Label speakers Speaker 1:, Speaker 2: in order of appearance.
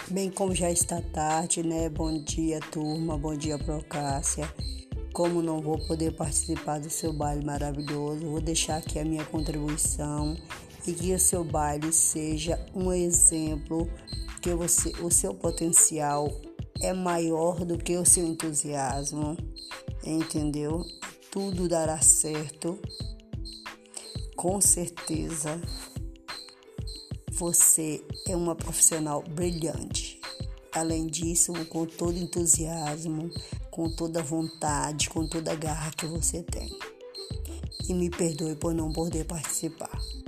Speaker 1: Bem, como já está tarde, né? Bom dia, turma. Bom dia, Procássia. Como não vou poder participar do seu baile maravilhoso, vou deixar aqui a minha contribuição e que o seu baile seja um exemplo que o seu potencial é maior do que o seu entusiasmo, entendeu? Tudo dará certo, com certeza. Você é uma profissional brilhante. Além disso, com todo entusiasmo, com toda vontade, com toda a garra que você tem. E me perdoe por não poder participar.